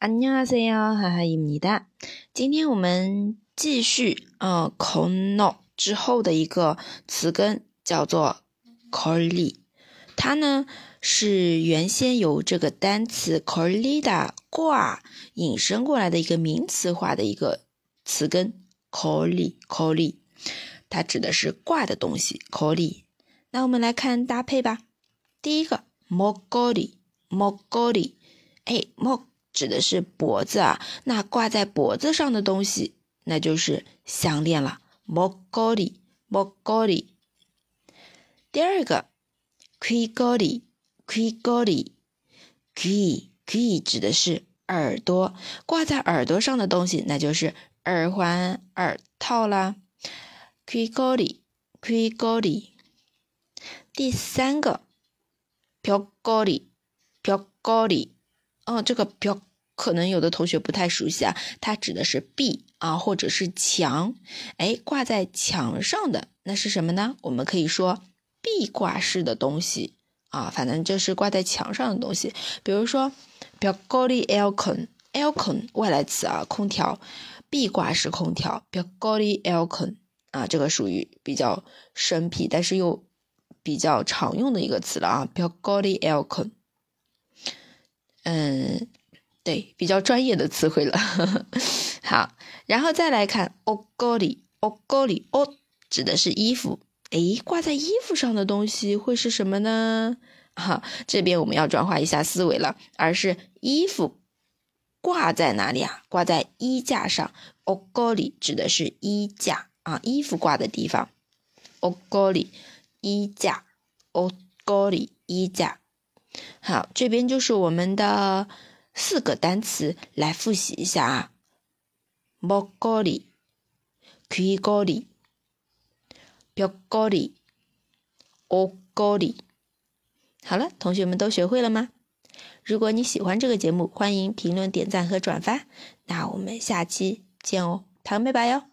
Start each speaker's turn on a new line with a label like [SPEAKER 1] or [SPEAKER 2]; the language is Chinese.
[SPEAKER 1] 안녕하세요，하하입니다。今天我们继续kono 之后的一个词根叫做 걸리， 它呢是原先由这个单词 걸리다 挂引申过来的一个名词化的一个词根 걸리， 它指的是挂的东西 걸리。 那我们来看搭配吧。第一个 목걸이， 목指的是脖子啊，那挂在脖子上的东西那就是项链了， 목걸이。 第二个 귀걸이， 귀指的是耳朵，挂在耳朵上的东西那就是耳环、耳套啦， 귀걸이。 第三个 벽걸이， 这个벽可能有的同学不太熟悉啊，它指的是壁啊，或者是墙，挂在墙上的那是什么呢？我们可以说壁挂式的东西啊，反正就是挂在墙上的东西。比如说벽걸이 에어컨外来词啊，空调，壁挂式空调벽걸이 에어컨啊，这个属于比较生僻但是又比较常用的一个词了啊，벽걸이 에어컨。对，比较专业的词汇了。好，然后再来看 옷걸이， 옷指的是衣服，挂在衣服上的东西会是什么呢？这边我们要转化一下思维了，而是衣服挂在哪里啊？挂在衣架上， 옷걸이指的是衣架啊，衣服挂的地方， 옷걸이衣架， 옷걸이衣架。好，这边就是我们的4个单词，来复习一下啊。목걸이， 귀걸이， 벽걸이， 옷걸이。 好了，同学们都学会了吗？如果你喜欢这个节目，欢迎评论、点赞和转发。那我们下期见哦，糖拜拜哟。